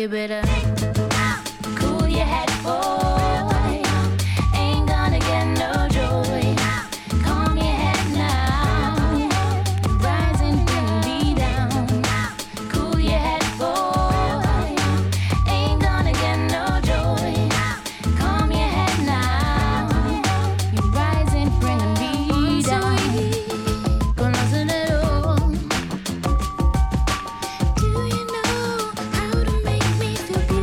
you better cool your head, boy. Ain't gonna get no joy. Calm your head now. Rise and bring me down. Cool your head, boy. Ain't gonna get no joy. Calm your head now. You rise and bring me down. Do you know how to make me feel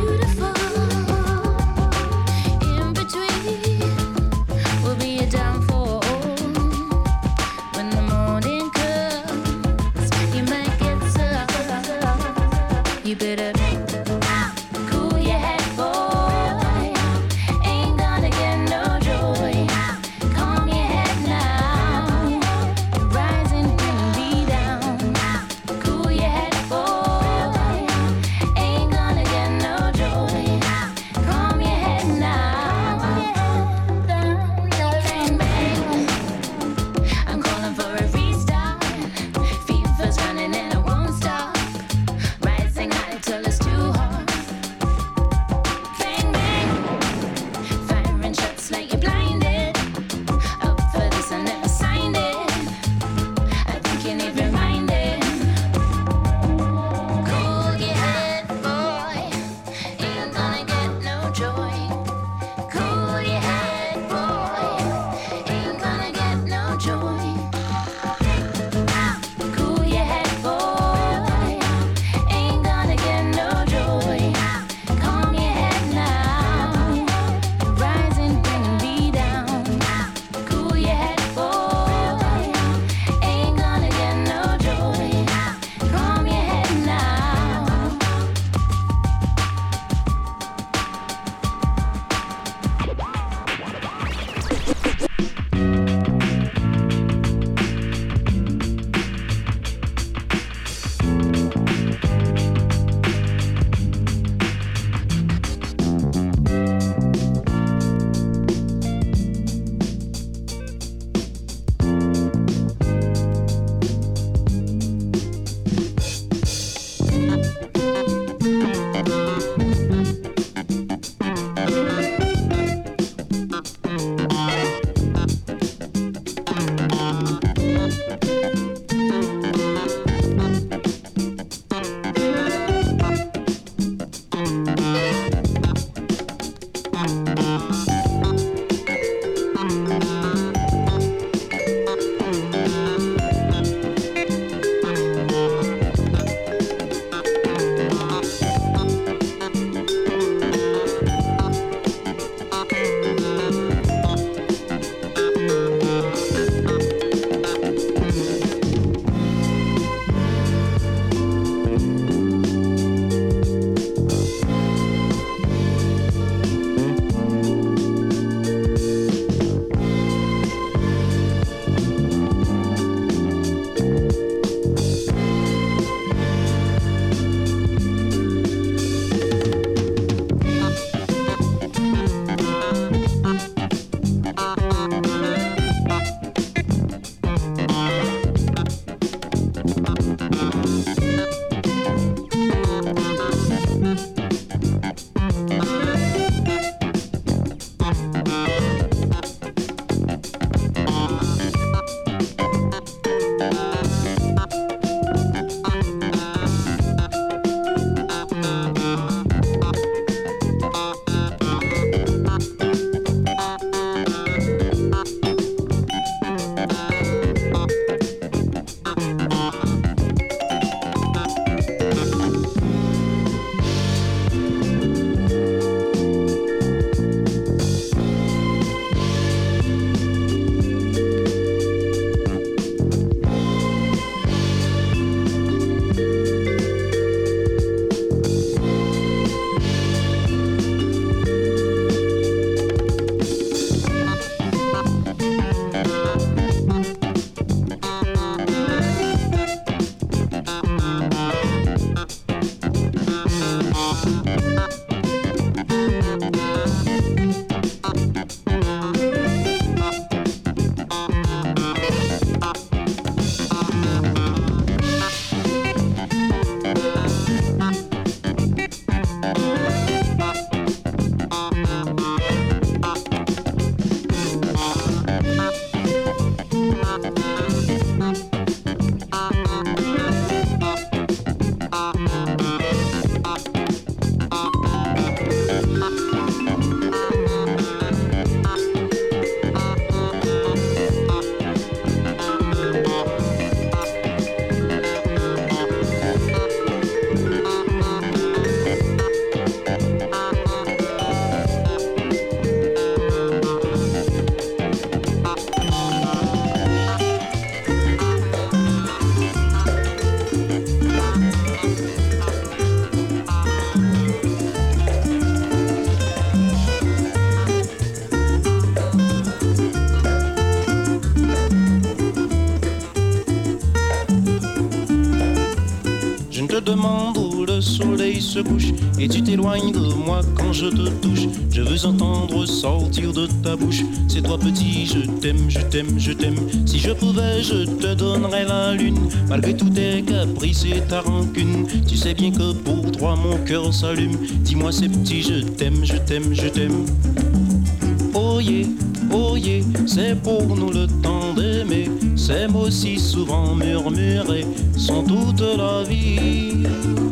te demande où le soleil se couche et tu t'éloignes de moi quand je te touche. Je veux entendre sortir de ta bouche, c'est toi petit, je t'aime, je t'aime, je t'aime. Si je pouvais, je te donnerais la lune, malgré tous tes caprices et ta rancune. Tu sais bien que pour toi mon cœur s'allume. Dis-moi c'est petit, je t'aime, je t'aime, je t'aime. Oh yeah, c'est pour nous le temps d'aimer. Ces mots si souvent murmurés sont toute la vie.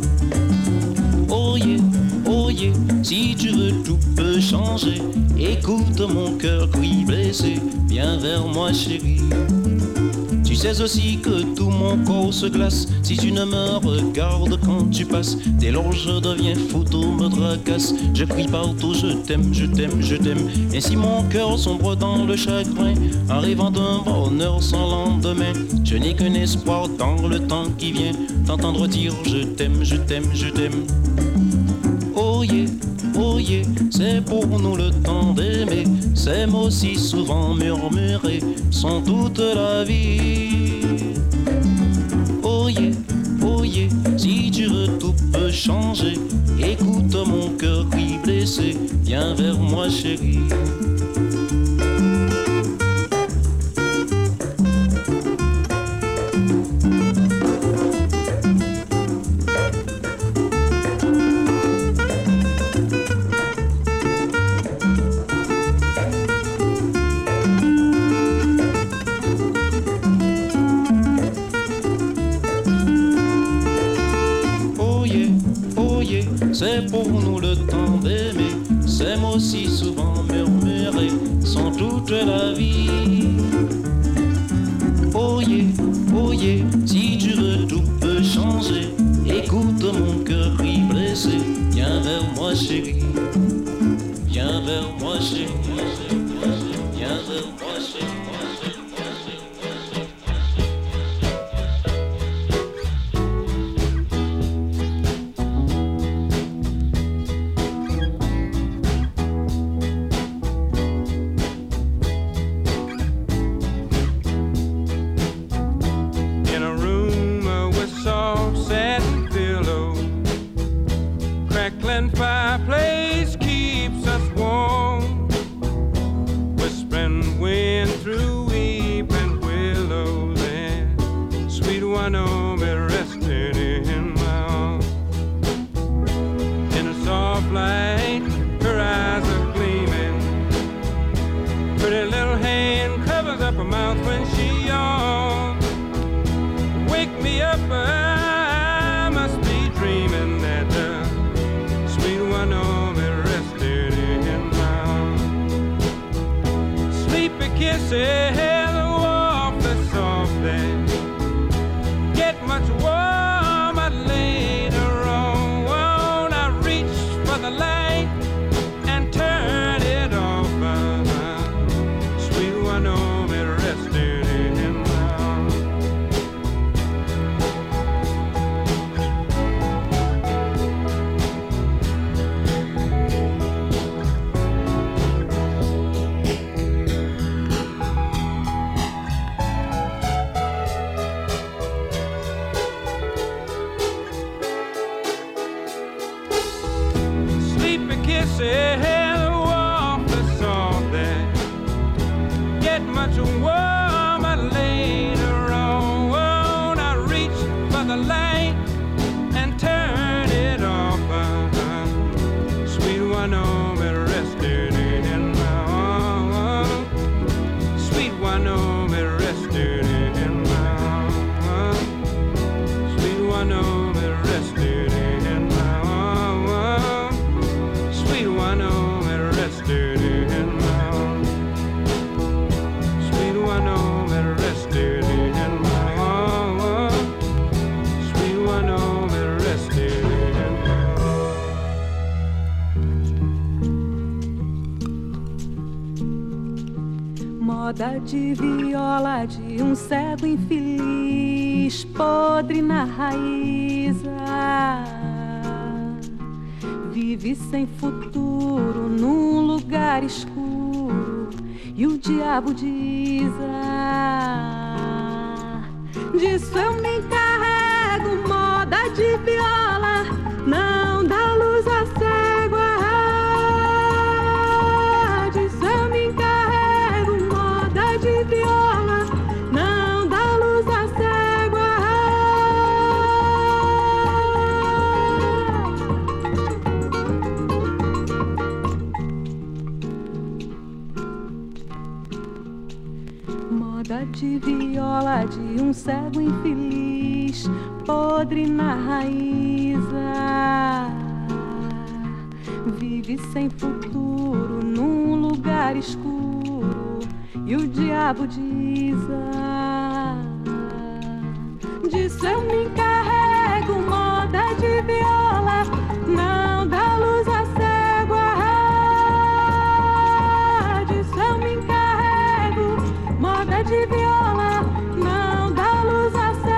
Oh yeah, si tu veux tout peut changer. Écoute mon cœur qui blessé, viens vers moi chérie. Tu sais aussi que tout mon corps se glace si tu ne me regardes quand tu passes. Dès lors je deviens fou, tout me tracasse. Je crie partout, je t'aime, je t'aime, je t'aime. Ainsi mon cœur sombre dans le chagrin, en rêvant d'un bonheur sans lendemain. Je n'ai qu'un espoir dans le temps qui vient, t'entendre dire je t'aime, je t'aime, je t'aime. Oh yeah, c'est pour nous le temps d'aimer. Ces mots si souvent murmurés sont toute la vie. Oh yeah, si tu veux tout peut changer. Écoute mon cœur qui blessé, viens vers moi chérie. C'est pour nous le temps d'aimer. Ces mots si souvent murmurés sont toute la vie. Oh yeah, si tu veux tout peut changer. Écoute mon cœur qui blessé, viens vers moi chérie. Viens vers moi chérie. Viens vers moi chérie. Moda de viola de um cego infeliz, podre na raiz. Vive sem futuro num lugar escuro e o diabo diz: disso eu me encarrego. Moda de viola de viola de um cego infeliz, podre na raiz. Vive sem futuro num lugar escuro e o diabo diz: disso eu me encarrego, moda de viola, não dá luz a cego. Disso eu me encarrego, moda de viola, não dá luz a cego.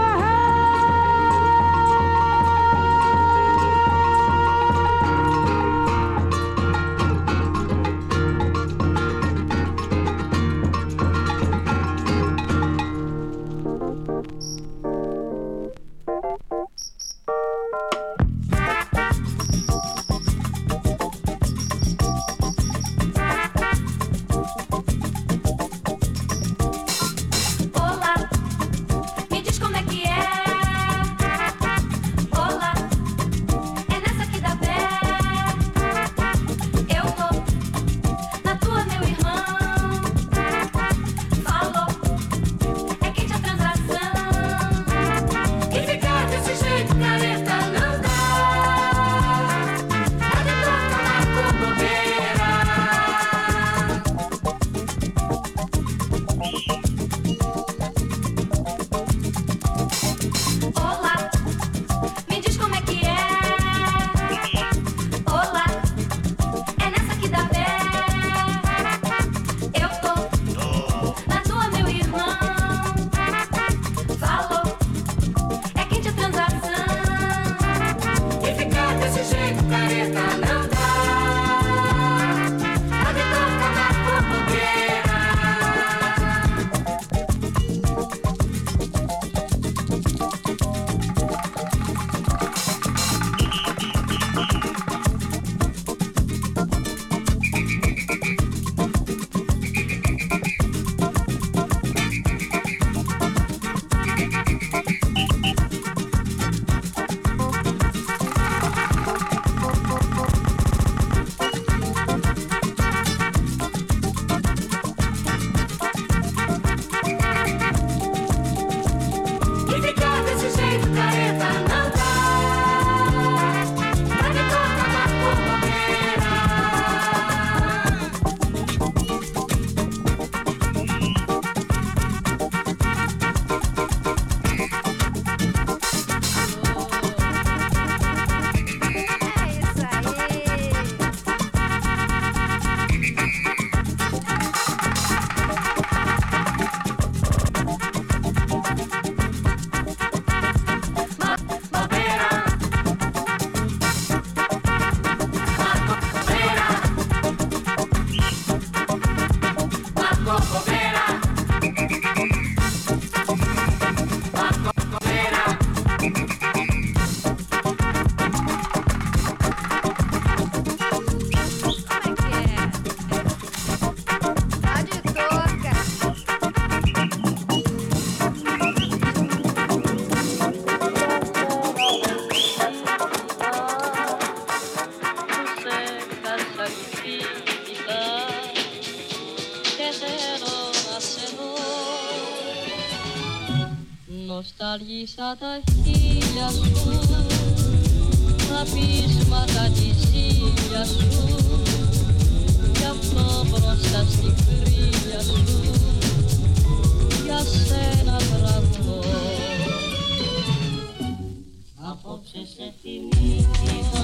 Nostalgiada ilha azul, abismada de azul, e a flor se brilha azul, e a cena travou. A voce se finiva,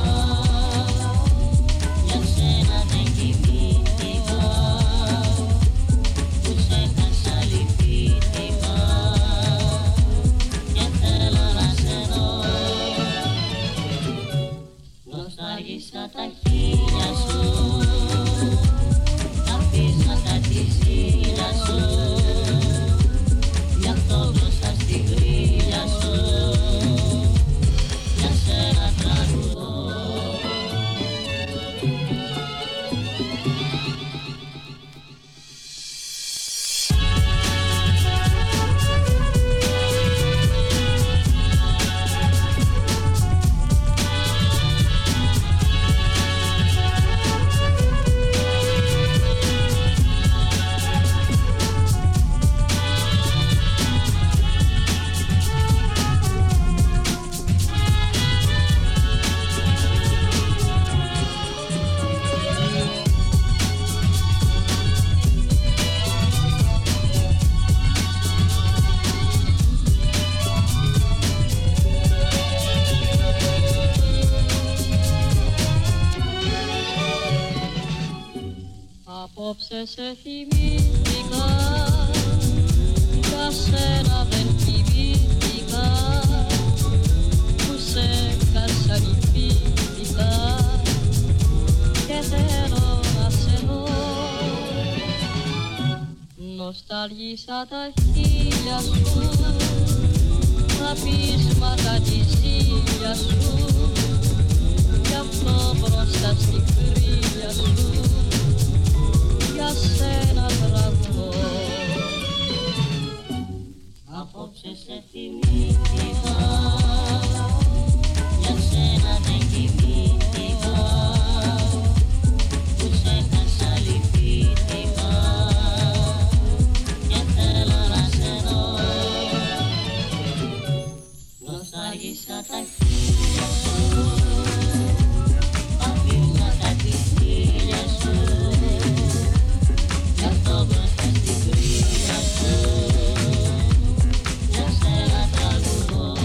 e a cena definitiva, tu sei cansa libitiva. Nostalgiada ilha azul, abismada de azul, e a flor Απόψε σε θυμήθηκα, για σένα δεν κοιμήθηκα, που σε κασανιφήθηκα και θέλω να σε δω. Νοσταλγίσα τα χείλια σου, τα πείσματα της ήλια σου, κι αυτό μπροστά στη κρύλια σου για σένα τραγουδώ. Απόψε σε θυμήθηκα, για σένα δεν κοιμήθηκα, που σε έχασα λυπήθηκα και θέλω να σε δω. Νοσταλγίσα τα χείλια σου, τα πείσματα της ήλιας σου, γι' αυτό μπροστά στην κρύλια σου για σένα τραγουδώ,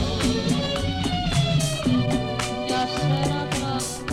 για σένα τραγουδώ.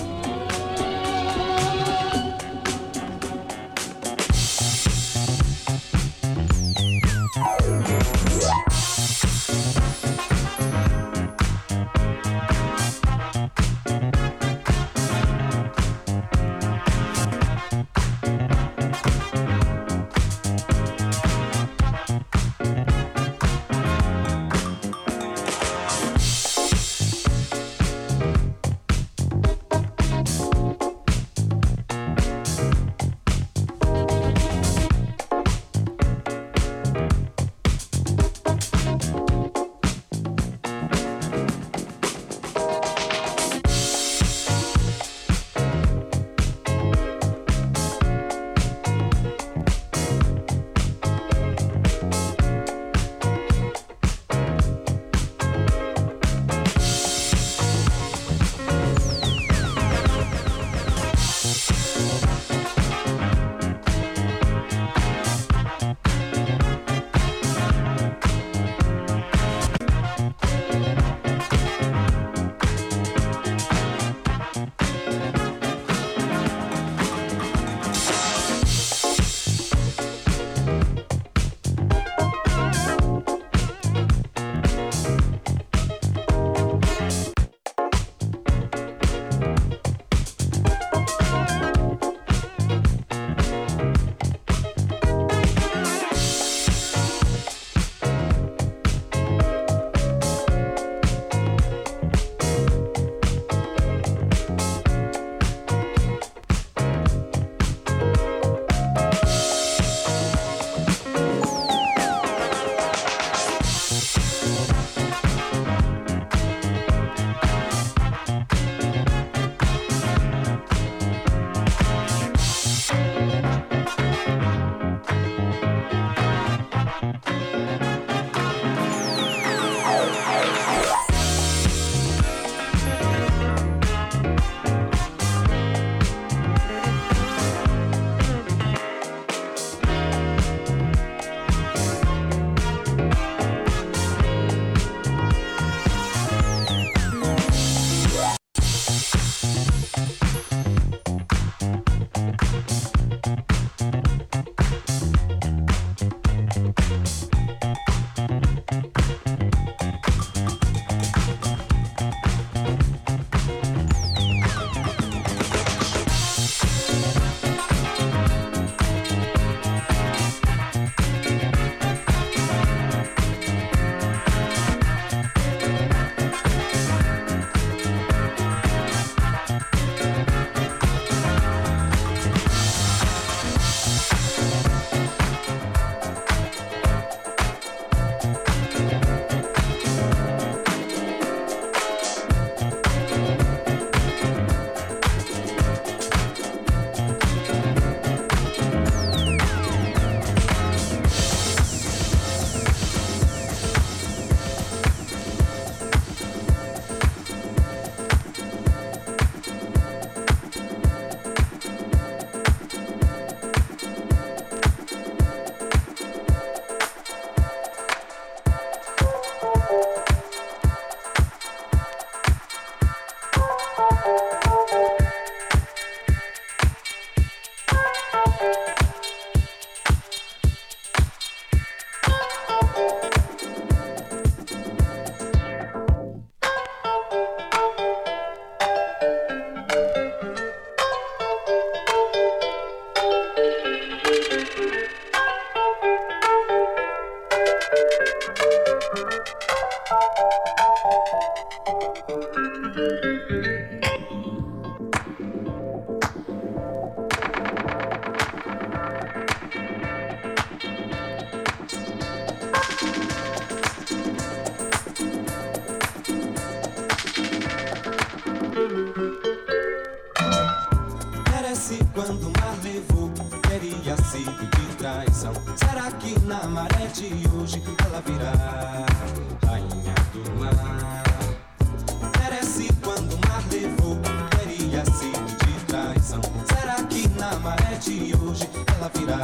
Merece quando o mar levou, teria sido de traição. Será que na maré de hoje ela virá rainha do mar? Merece quando o mar levou, teria sido de traição. Será que na maré de hoje ela virá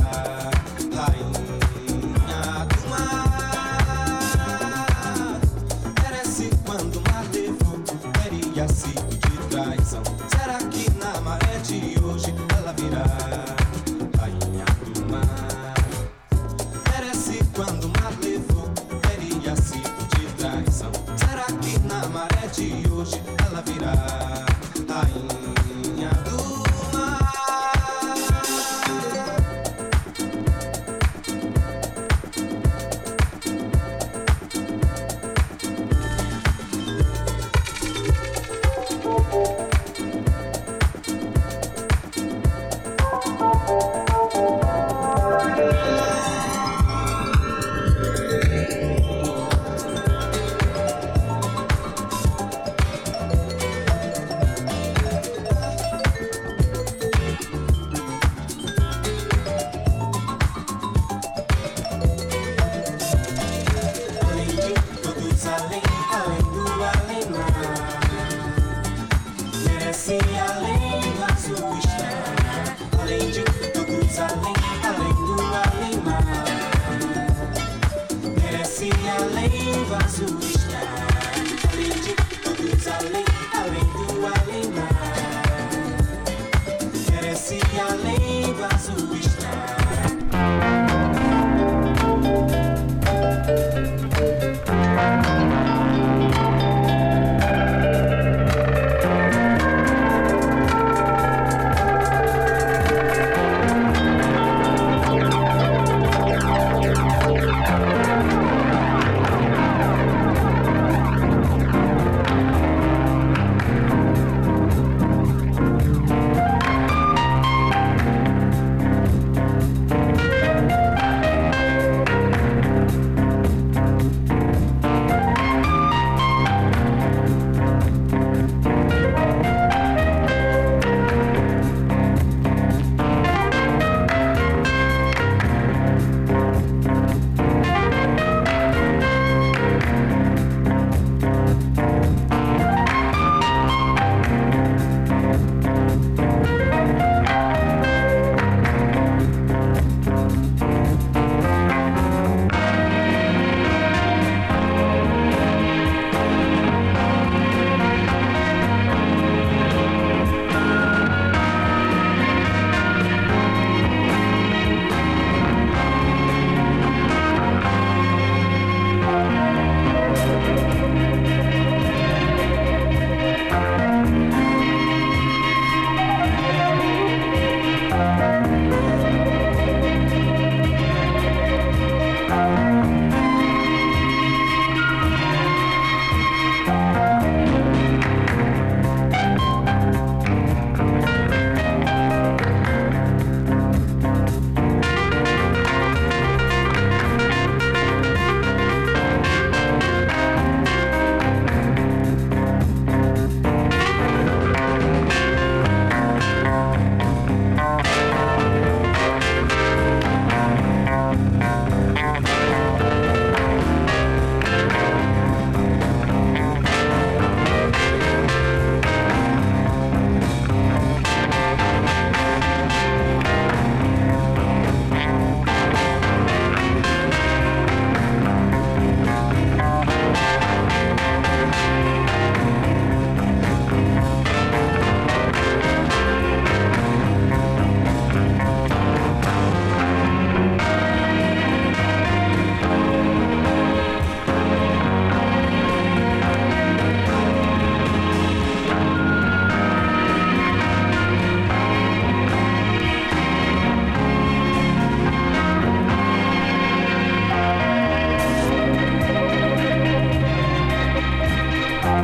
rainha do mar? Merece quando o mar levou, teria sido de traição. Será que na maré de hoje ela virá rainha do mar? Merece quando o mar levou, teria sido de traição. Será que na maré de hoje ela virá rainha do mar?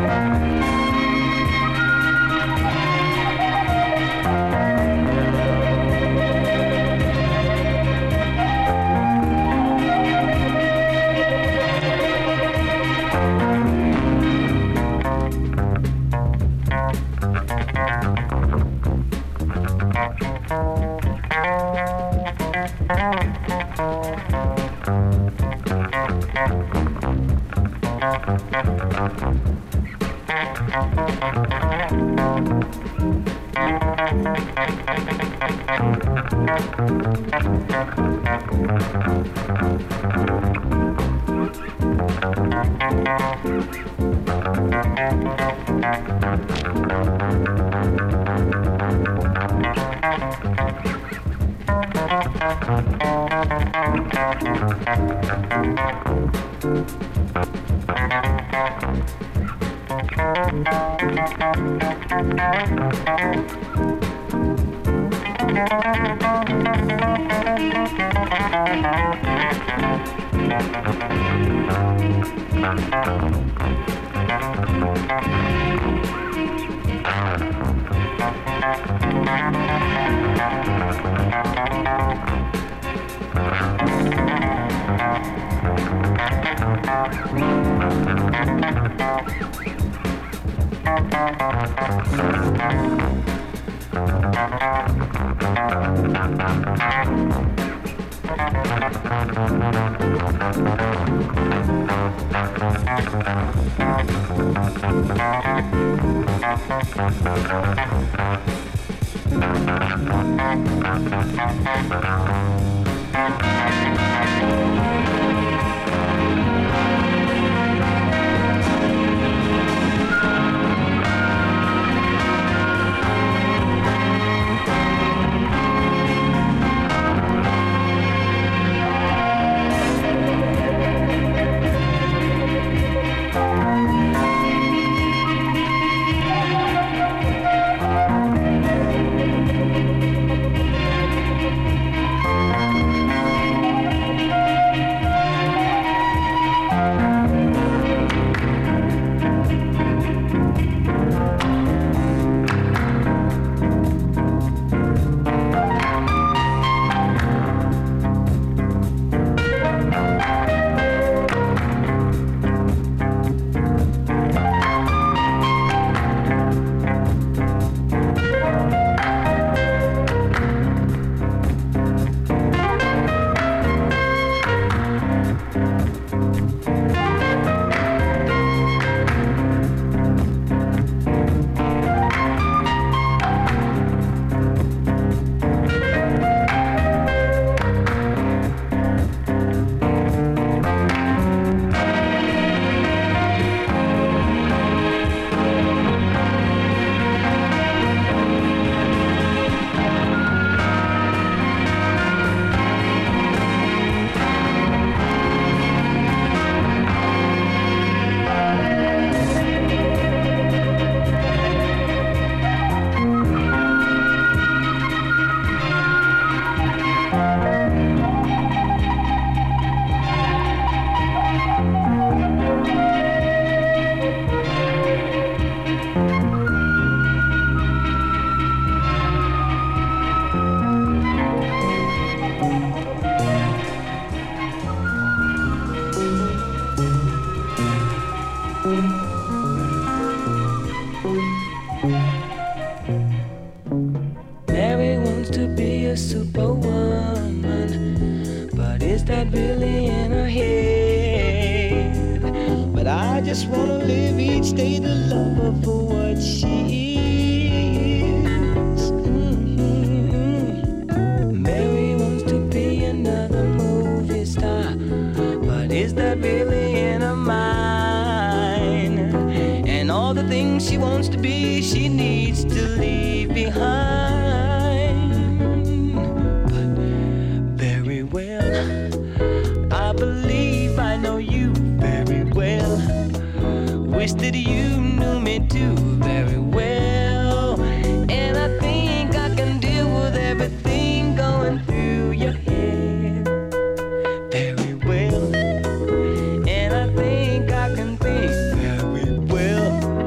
And I think I can think very well.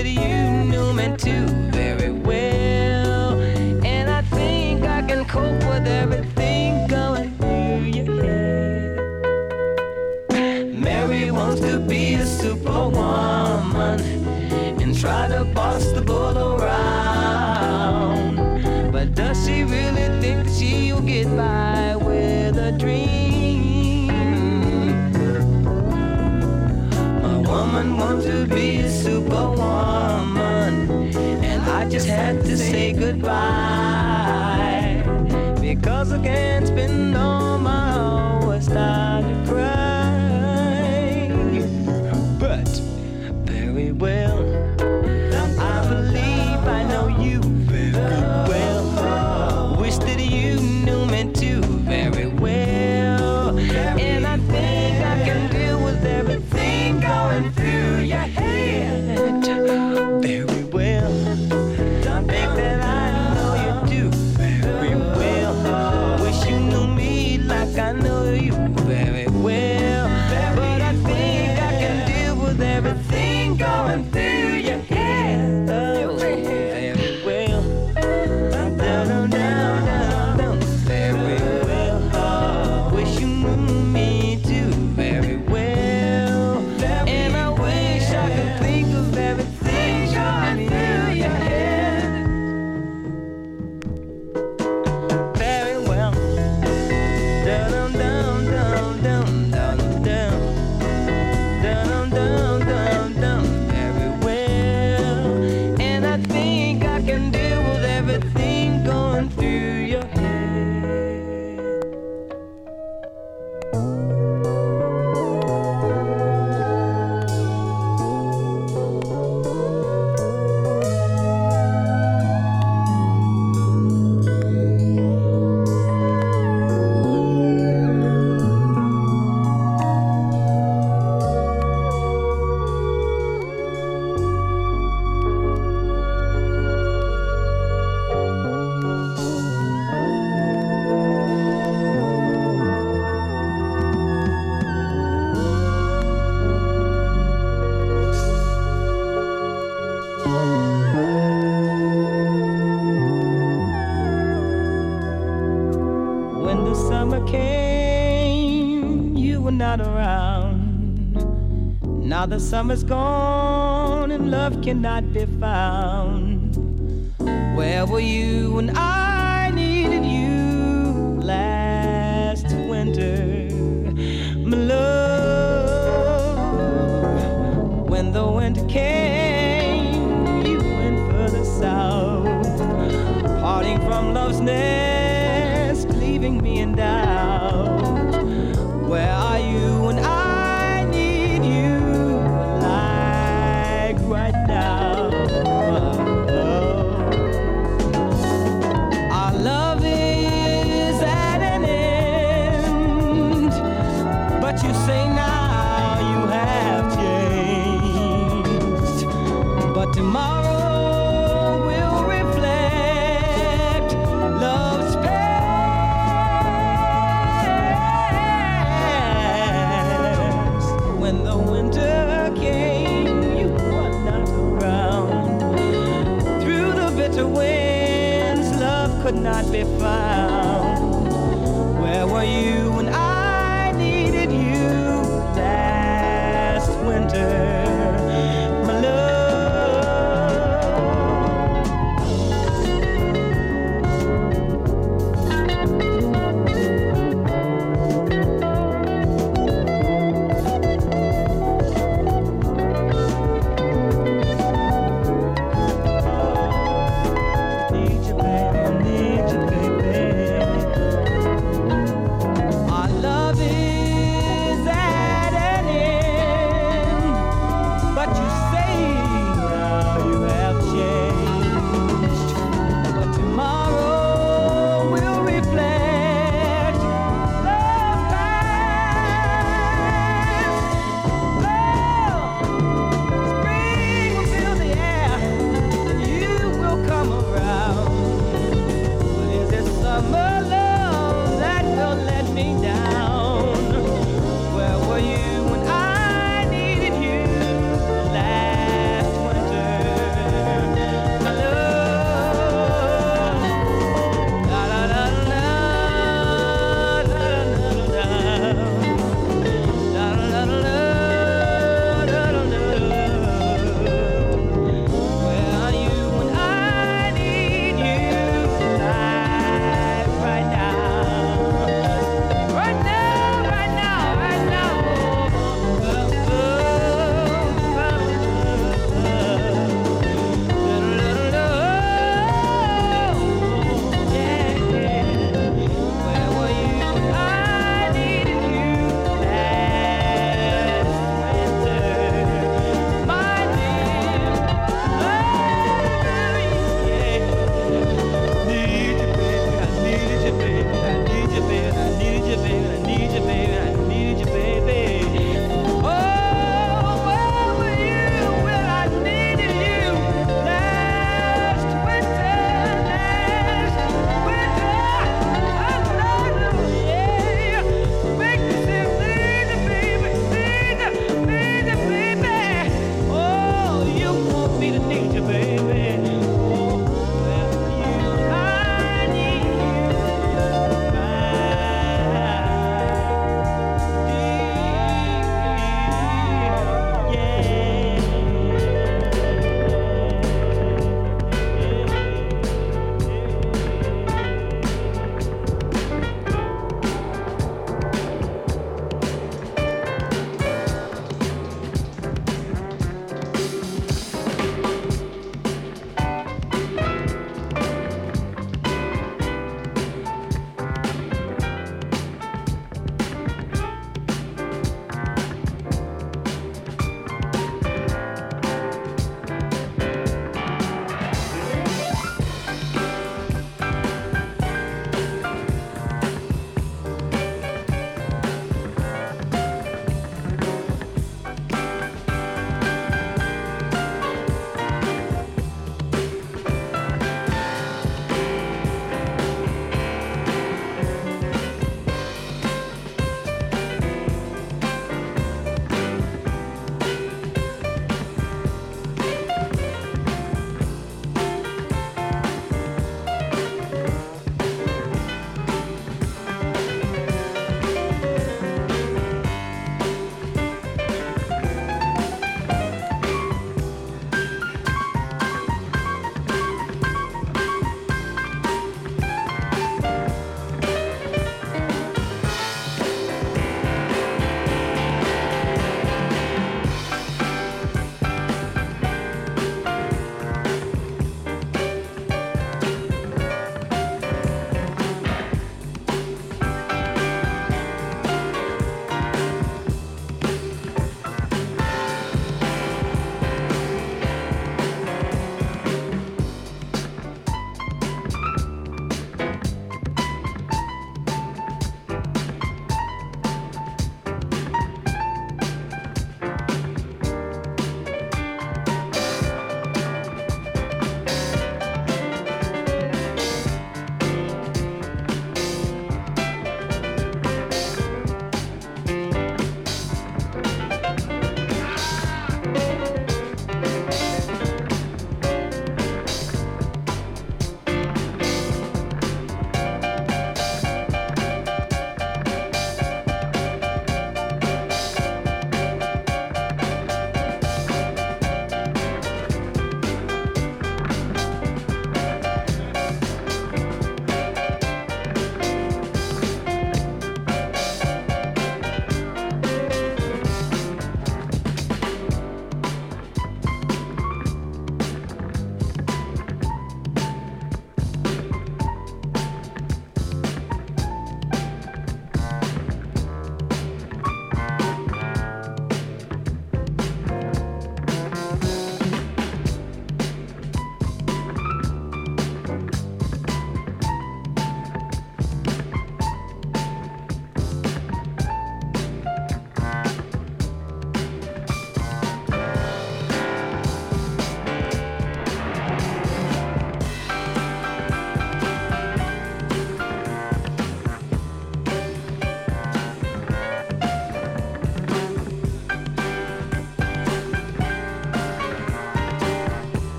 that you knew me too very well. And I think I can cope with everything going through your head. Mary wants to be a superwoman and try to boss the bull around. But does she really think that she'll get by with a dream? My woman wants to be a superwoman, and I just had to say goodbye, because I can't spend all my hours time to cry. But very well, I believe I know you very well. Wish that you knew me too very well. And I think I can deal with everything going through your head very well. Don't think that I know you do very well. Wish you knew me like I know you very well. But I think I can deal with everything going through your head very well. Down, down, down, down, very well. Wish you knew me too very well. And I wish I could think of everything going through your head very well. Down, down, down, down, down, down. Down, down, down, down, very well. And I think I can deal with everything going through your head. When the summer came, you were not around. Now the summer's gone and love cannot be found. Where were you when I needed you last winter, my love? When the winter came, you went further south, parting from love's nest, leaving me in doubt. Where are you when I need you, like right now? Our love is at an end, but you say now you have changed. But tomorrow will reflect love's past. When the winter came, you were not around. Through the bitter winds, love could not be found. Where were you when I needed you last winter, my love? Need you, baby, need you, baby.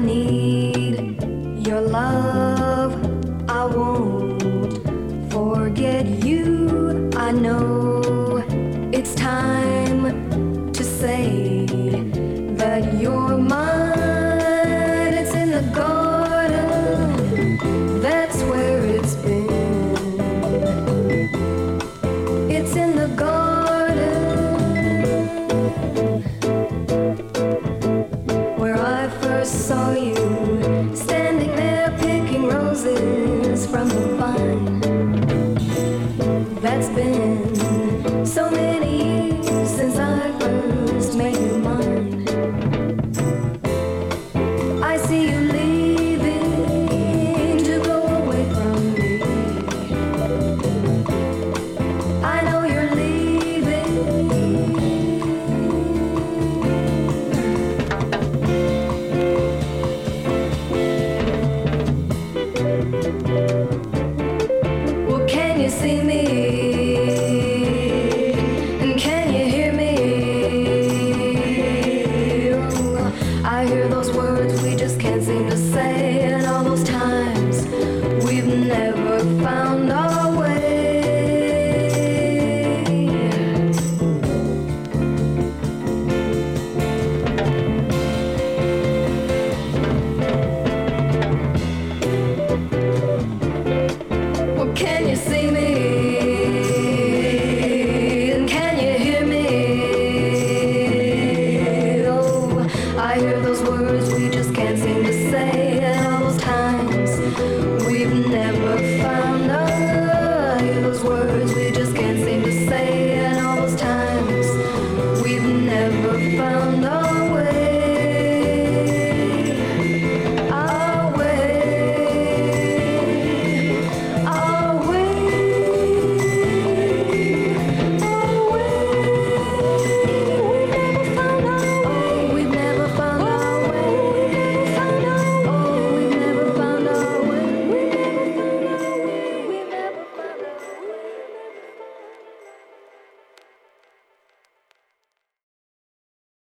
need your love. I won't forget you. I know it's time to say that you're mine. It's in the garden, that's where it's been. It's in the garden where I first saw you, standing there picking roses from the vine. That's been so many years since I first made you mine. I see you leaving to go away from me. I know you're leaving. Well, can you see me? And can you hear me? Oh, I hear those words we just can't seem to say.